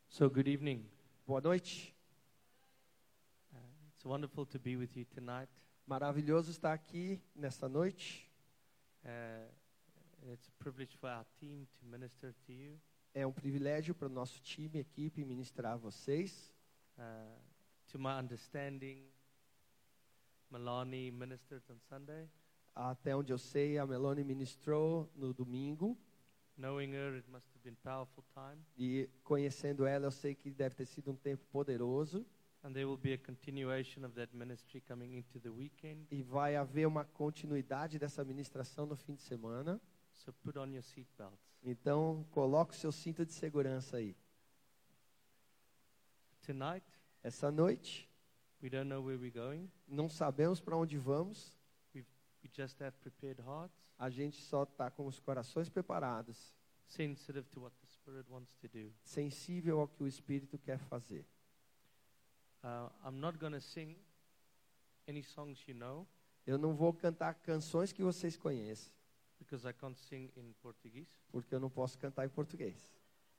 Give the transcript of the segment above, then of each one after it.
So good evening. Boa noite. It's wonderful to be with you tonight. Maravilhoso estar aqui nesta noite. It's a privilege for our team to minister to you. É um privilégio para o nosso time, equipe, ministrar a vocês. To my understanding, Melanie ministered on Sunday. Até onde eu sei, a Melanie ministrou no domingo. Knowing her, it must have been a powerful time. E conhecendo ela, eu sei que deve ter sido um tempo poderoso. And there will be a continuation of that ministry coming into the weekend. E vai haver uma continuidade dessa ministração no fim de semana. So put on your seatbelts. Então, coloque o seu cinto de segurança aí. Tonight, Essa noite, we don't know where we're going. não sabemos para onde vamos. We just have prepared hearts, A gente só está com os corações preparados, sensitive to what the Spirit wants to do. sensível ao que o Espírito quer fazer. I'm not going to sing any songs you know, Eu não vou cantar canções que vocês conhecem, because I can't sing in Portuguese. porque eu não posso cantar em português.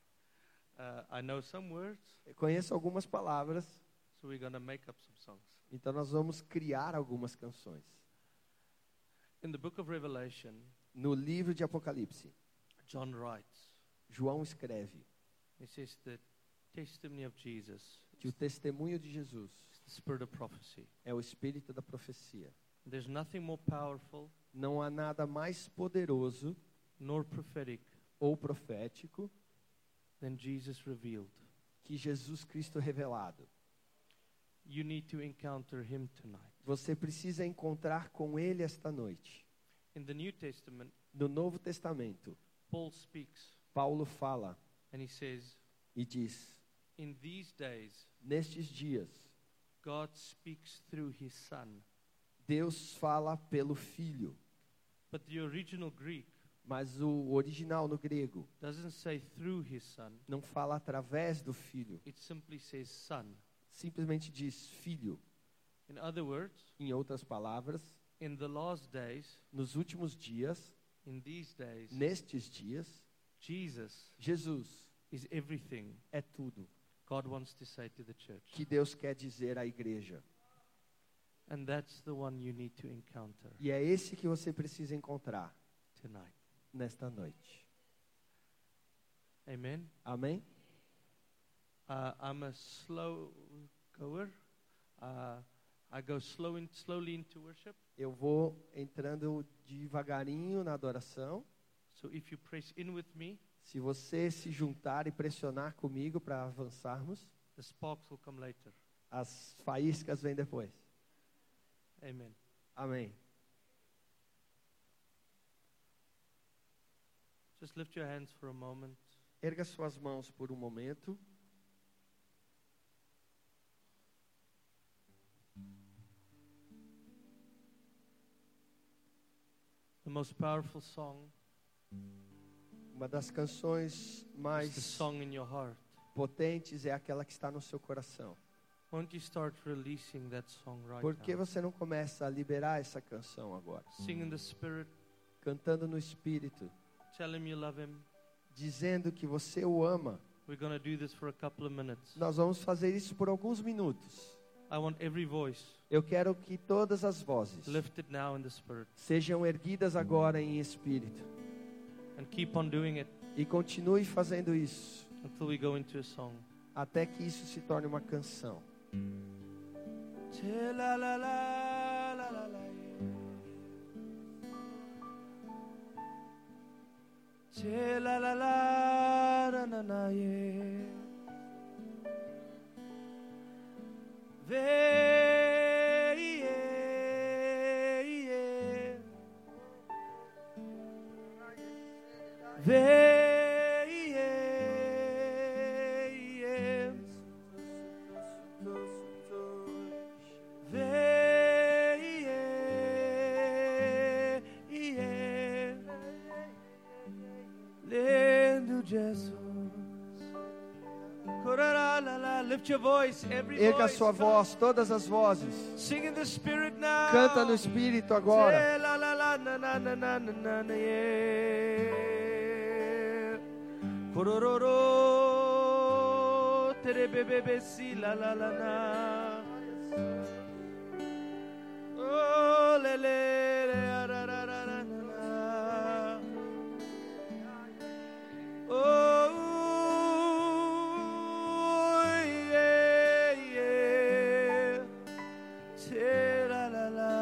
I know some words, Eu conheço algumas palavras, so we're going to make up some songs. então nós vamos criar algumas canções. In the book of Revelation, No livro de Apocalipse, John writes, João escreve he says the testimony of Jesus que o testemunho de Jesus is the spirit of prophecy. é o espírito da profecia. There's nothing more powerful Não há nada mais poderoso nor prophetic ou profético than Jesus revealed. que Jesus Cristo revelado. You need to encounter him tonight. Você precisa encontrar com Ele esta noite. In the New Testament, No Novo Testamento, Paul speaks Paulo fala and he says, e diz: in these days, nestes dias, God speaks through his son. Deus fala pelo Filho. But the original Greek Mas o original no grego doesn't say through his son. não fala através do Filho. It simply says son. Simplesmente diz Filho. In other words, Em outras palavras, in the last days, nos últimos dias, in these days, nestes dias, Jesus Jesus is everything é tudo God wants to say to the church. que Deus quer dizer à igreja. And that's the one you need to encounter E é esse que você precisa encontrar tonight. nesta noite. Amen. Amém? I'm a slow goer. I go slowly into worship. Eu vou entrando devagarinho na adoração. So if you press in with me, Se você se juntar e pressionar comigo para avançarmos, the sparks will come later. as faíscas vêm depois. Amen. Amém. Just lift your hands for a moment. Erga suas mãos por um momento. The most powerful song Uma das canções is the mais song in your heart. potentes é aquela que está no seu coração. Why don't you start releasing that song right Por que now? você não começa a liberar essa canção agora? Sing in the Spirit. Cantando no Espírito, Tell him you love him. dizendo que você o ama. We're going to do this for a couple of minutes. Nós vamos fazer isso por alguns minutos. I want every voice Eu quero que todas as vozes lifted now in the Spirit. sejam erguidas agora em espírito. And keep on doing it E continue fazendo isso until we go into a song. até que isso se torne uma canção. Lift your voice, every Erga a voice. sua voz, todas as vozes. Sing in the Spirit now. Canta no Espírito agora. Korororo, tere bebe si la la la na. Oh le le le ra ra ra ra ra na. Oh yeah yeah. Te la la la.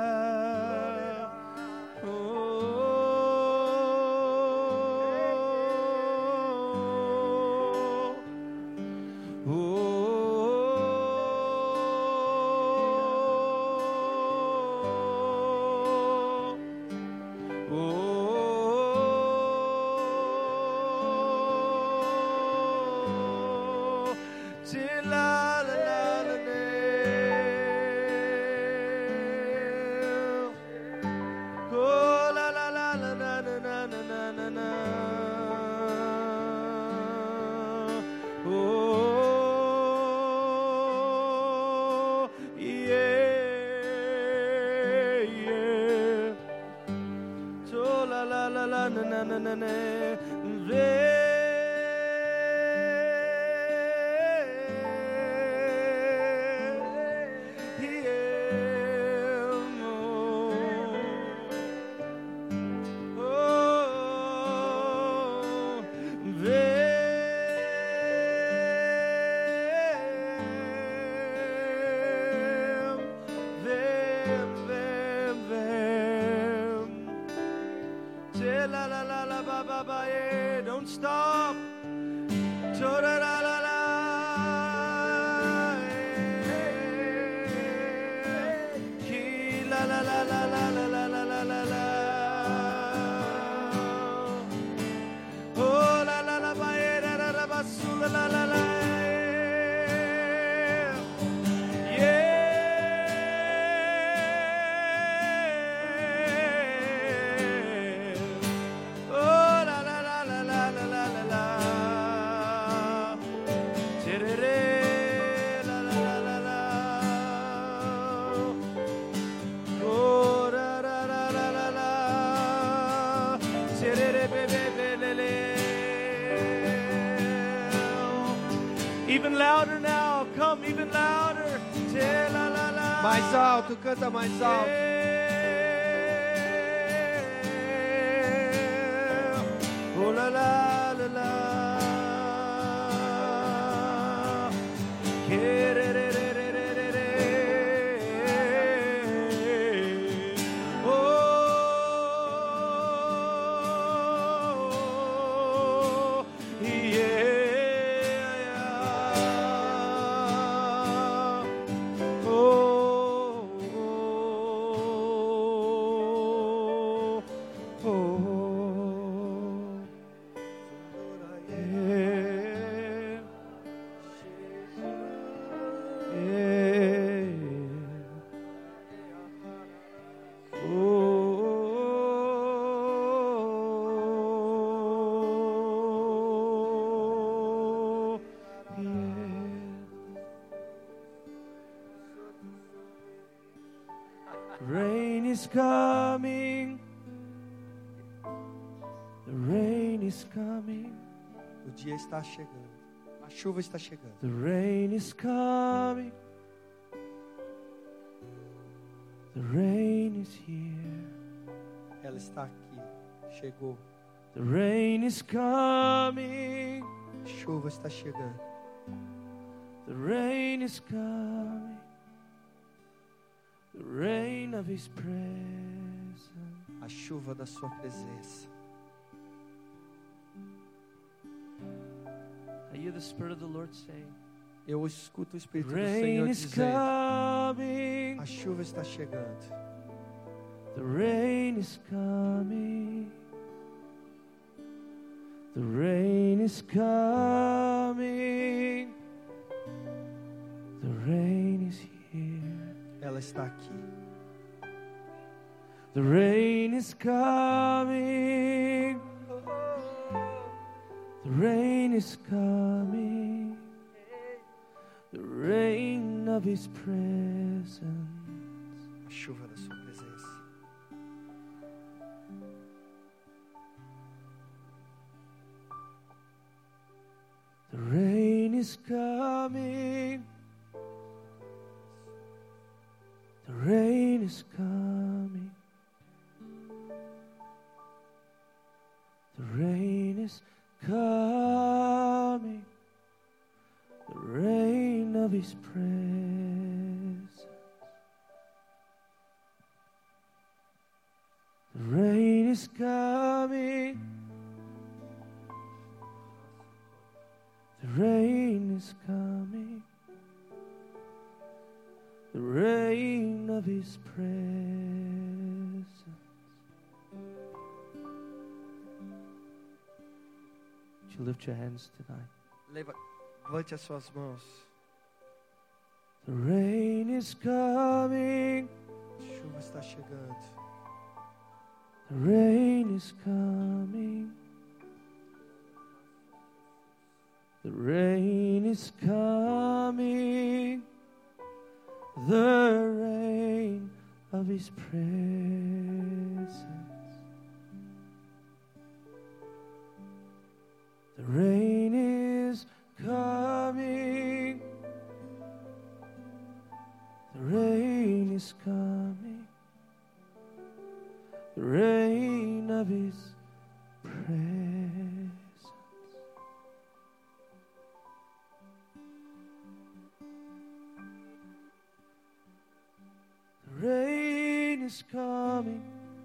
Don't stop. Even louder now, come even louder. Mais alto, canta mais alto. Oh la la la la. Rain is coming. The rain is coming. O dia está chegando. A chuva está chegando. The rain is coming. The rain is here. Ela está aqui. Chegou. The rain is coming. A chuva está chegando. The rain is coming. The rain of His presence. A chuva da sua presença. I hear the Spirit of the Lord saying, Eu escuto o Espírito do rain Senhor is dizendo: coming. a chuva está chegando. The rain is coming. The rain is coming. The rain is here. Ela está aqui. The rain is coming. The rain is coming. The rain of His presence. A chuva da sua presença. The rain is coming. coming. The rain is coming. The rain is coming. The rain of His presence. The rain is coming. The rain is coming. The rain of His presence. Would you lift your hands tonight? Levante as suas mãos. The rain is coming. A chuva está chegando. The rain is coming. The rain is coming. The rain of His presence. The rain is coming. The rain is coming. The rain of His presence. The rain is coming.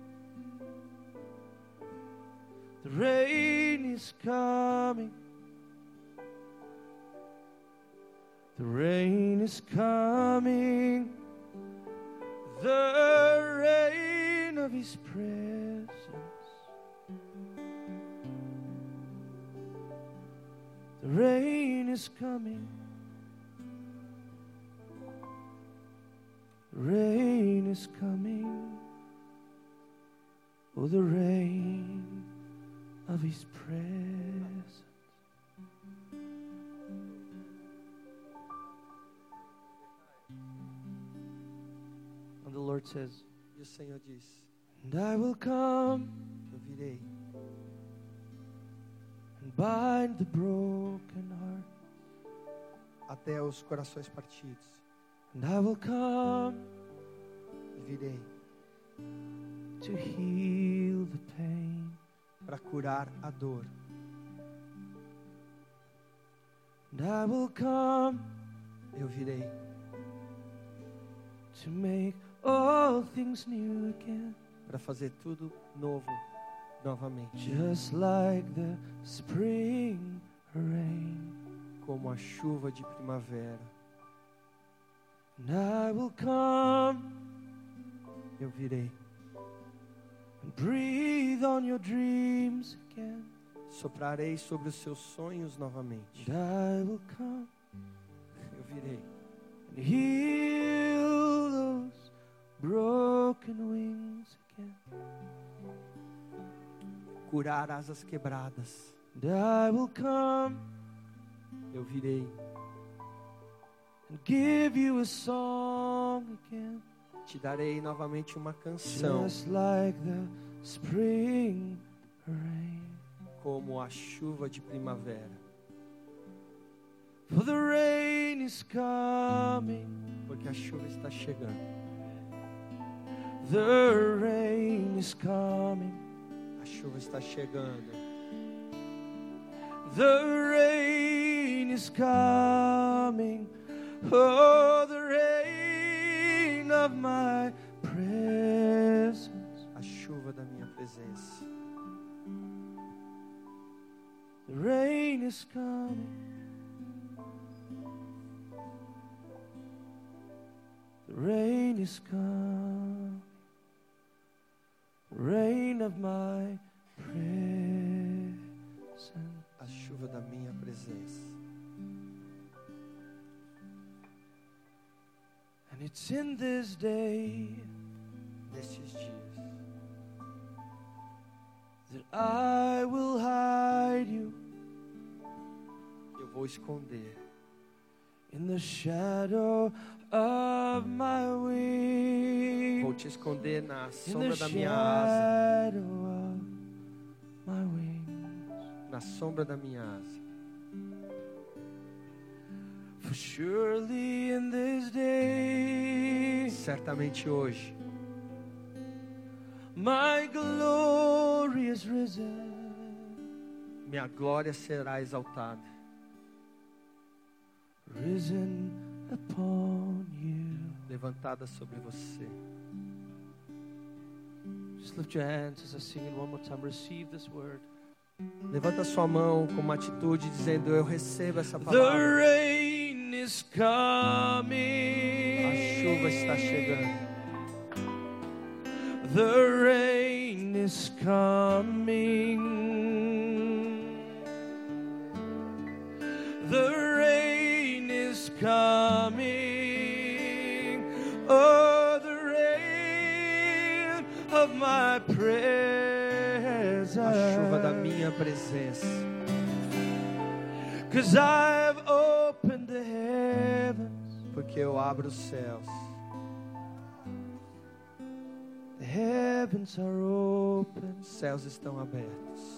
The rain is coming. The rain is coming. The rain of His presence. The rain is coming. The rain is coming. Oh, the rain of His presence. And the Lord says, E o Senhor diz: and I will come eu virei and bind the broken heart. até os corações partidos. And I will come E virei to heal the pain. para curar a dor. And I will come Eu virei to make all things new again. para fazer tudo novo novamente. Just like the spring rain. Como a chuva de primavera. And I will come Eu virei and breathe on your dreams again. soprarei sobre os seus sonhos novamente. And I will come Eu virei and heal those broken wings again. curar asas quebradas. And I will come Eu virei and give you a song again. te darei novamente uma canção, Just like the spring rain. como a chuva de primavera. For the rain is coming. Porque a chuva está chegando. The rain is coming. A chuva está chegando. The rain is coming. Oh, the rain of my presence. A chuva da minha presença. The rain is coming. The rain is coming. The rain of my presence. A chuva da minha presença. And it's in this day Nestes dias that I will hide you eu vou esconder in the shadow of my wing. Vou te esconder na In sombra the da minha asa. shadow of my wings. Na sombra da minha asa. For surely in this day, certamente hoje, my glory is risen. minha glória será exaltada. Risen upon you. Levantada sobre você. Just lift your hands as I sing it one more time. Receive this word. Levanta sua mão com uma atitude dizendo: eu recebo essa The palavra. rain is coming. A chuva está chegando. The rain is coming. The rain is coming. Oh, the rain of my presence. A chuva da minha presença. 'Cause I've opened the heavens. Porque eu abro os céus. The heavens are open. Os céus estão abertos.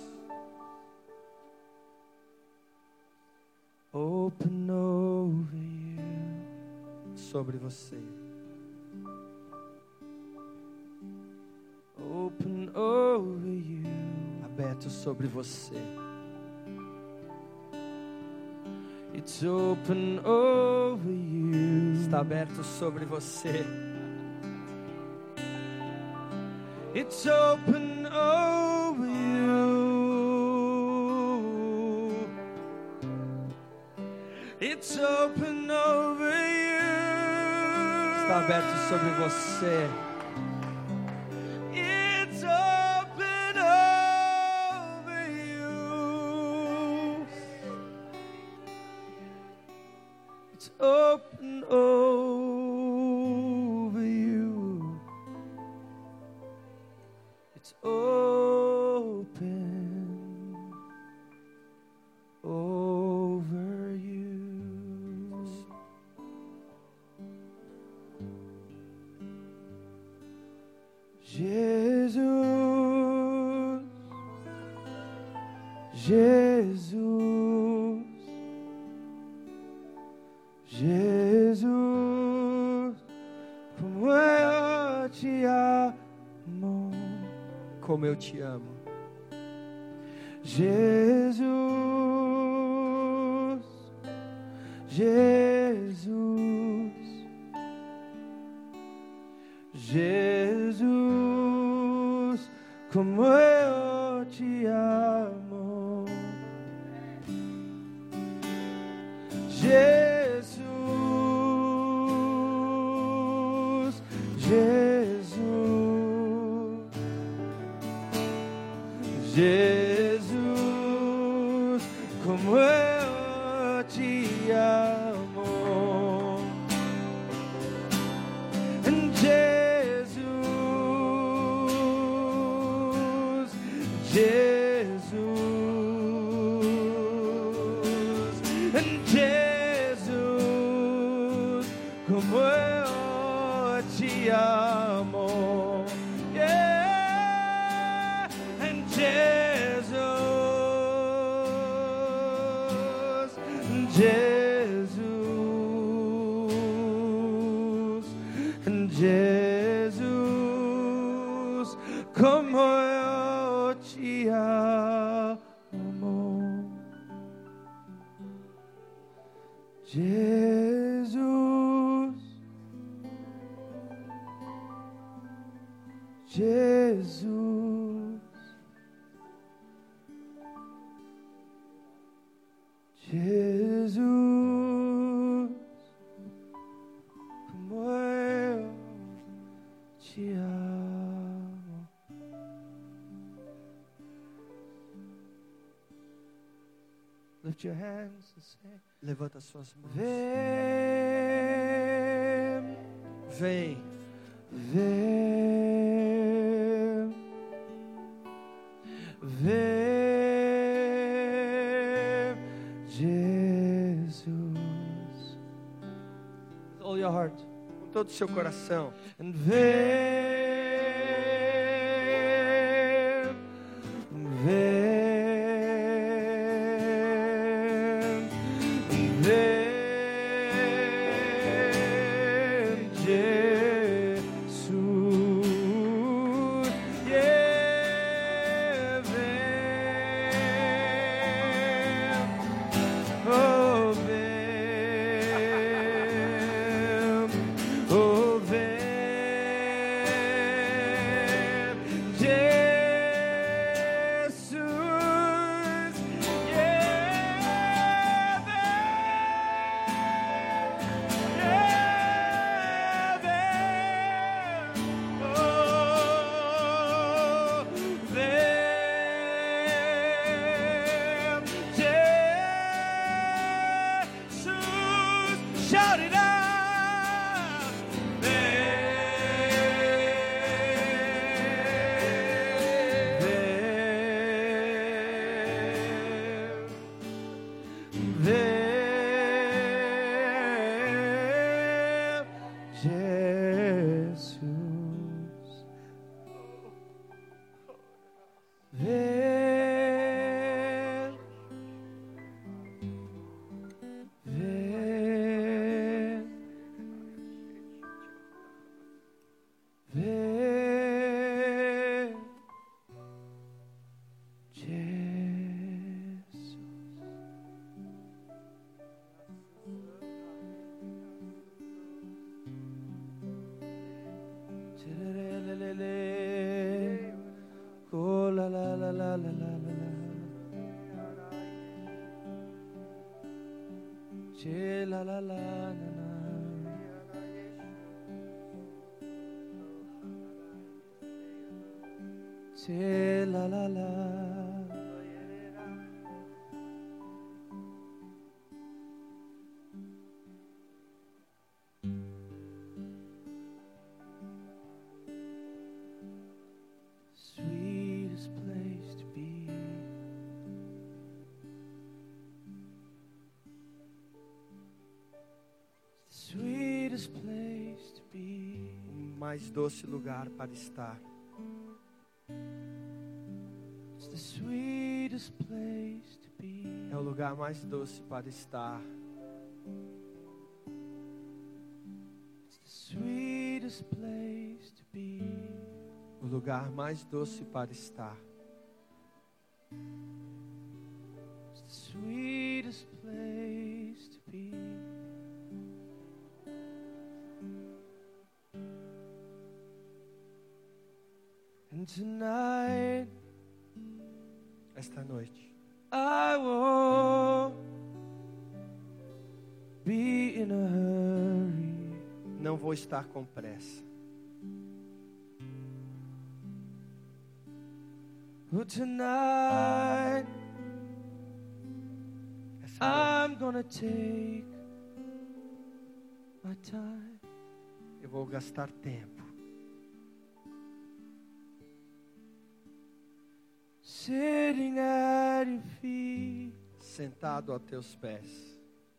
Open over you. Sobre você. Open over you. Aberto sobre você. It's open over you. Está aberto sobre você. It's open over you. It's open over you. Está aberto sobre você. It's open over you. It's open over you. It's open over you. Jesus, Jesus, Jesus, como eu te amo. Como eu te amo. Jesus, Jesus, Jesus, como eu te amo. Jesus, Jesus, Jesus, como eu te amo. And Jesus, Jesus, and Jesus, como eu te amo. Yeah, and Jesus, Jesus, and Jesus, como eu te amo. Jesus, Jesus, Jesus, como eu te amo. Lift your hands and say, Levanta suas mãos. Vem, Vem, vem, vem, Jesus. With all your heart. com todo o seu coração. And vem, vem, vem, Che la la la na na. Che la la la. Sweetest place to be. Sweetest place to be. O mais doce lugar para estar. It's the sweetest place to be. É o lugar mais doce para estar. It's the sweetest place to be. O lugar mais doce para estar. It's the sweetest place to be. And tonight Esta noite, I won't be in a hurry. não vou estar com pressa. But tonight Essa I'm gonna take my time. noite, eu vou gastar tempo. Sitting at your feet. Sentado aos teus pés.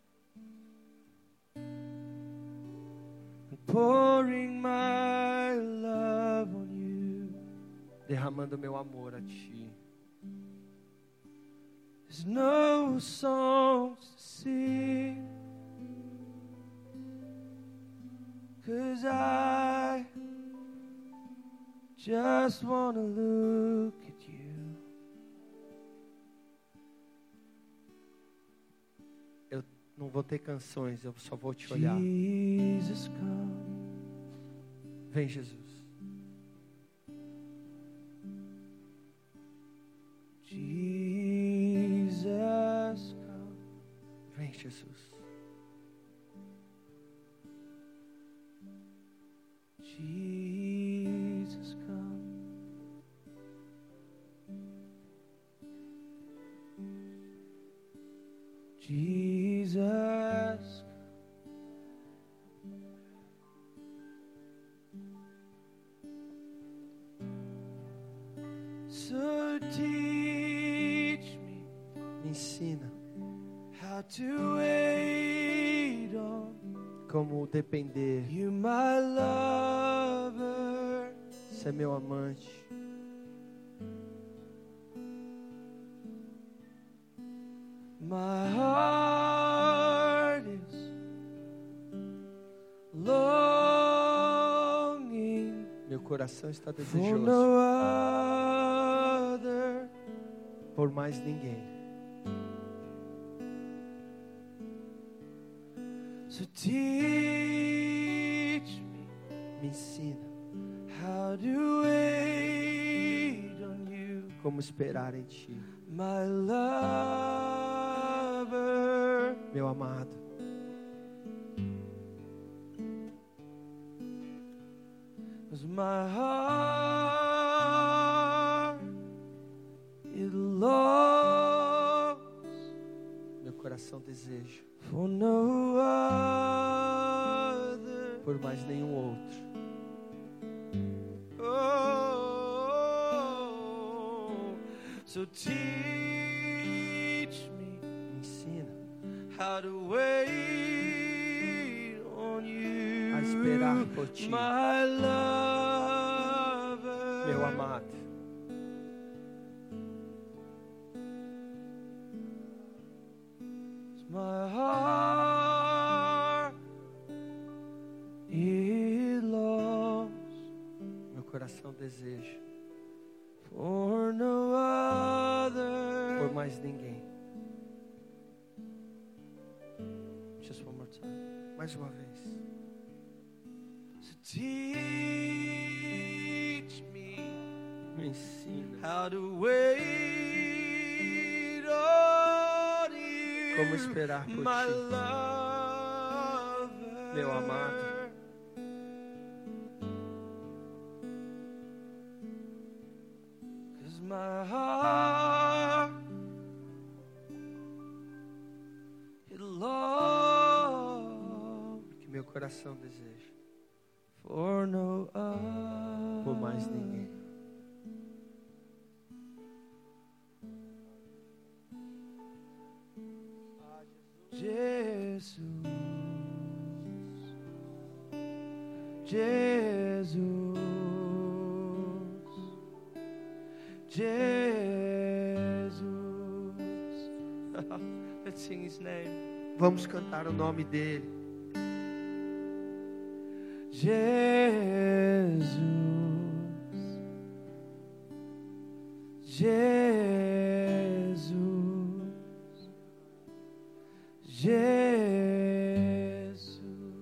And pouring my love on you. Derramando meu amor a ti. There's no songs to sing, 'cause I just wanna look at you. Eu não vou ter canções, eu só vou te olhar. Jesus, come. Vem, Jesus. Jesus, come. Vem, Jesus. Jesus, come. Jesus, so teach me Me ensina how to wait on como depender. you, my lover. Você é meu amante. My heart is longing Meu coração está for desejoso no other. por mais ninguém. So teach me Me ensina how to wait on you, como esperar em ti, my lover. meu amado. 'Cause my heart it longs Meu coração deseja for no other. por mais nenhum outro. Oh, so teach me Me ensina how to wait on you, a esperar por ti, my lover. meu amado. My heart it longs Meu coração deseja for no other. por mais ninguém. Just one more time. Mais uma vez. So teach me Me ensina how to wait on you, Como esperar por my ti, lover. meu amado. 'Cause my heart it longs Que meu coração deseja for no other. por mais ninguém. Jesus, Jesus, Jesus. Let's sing His name. Vamos cantar o nome dele. Jesus, Jesus, Jesus.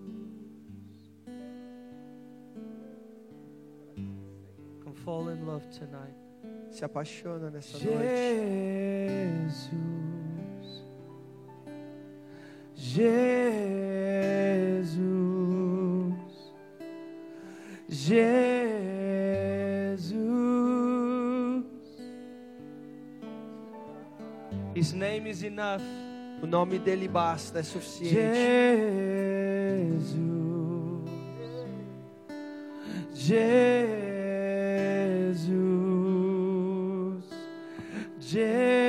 Come fall in love tonight. Se apaixona nessa noite. Jesus, Jesus. His name is enough. O nome dele basta, é suficiente. Jesus, Jesus.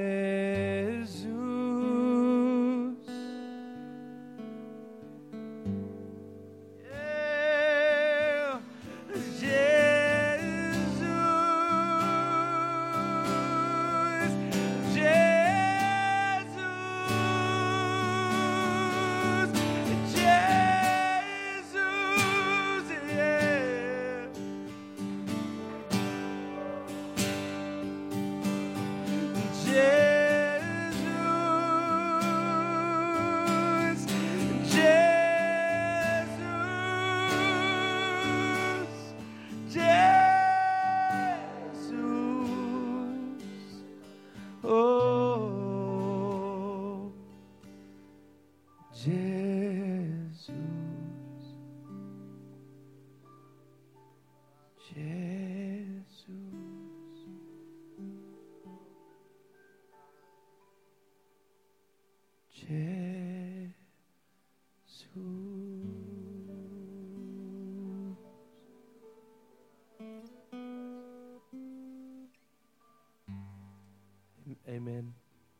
Amen.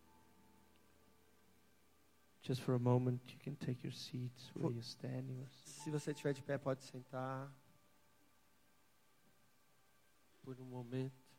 Just for a moment, you can take your seats where you're standing. Se você estiver de pé, pode sentar por um momento.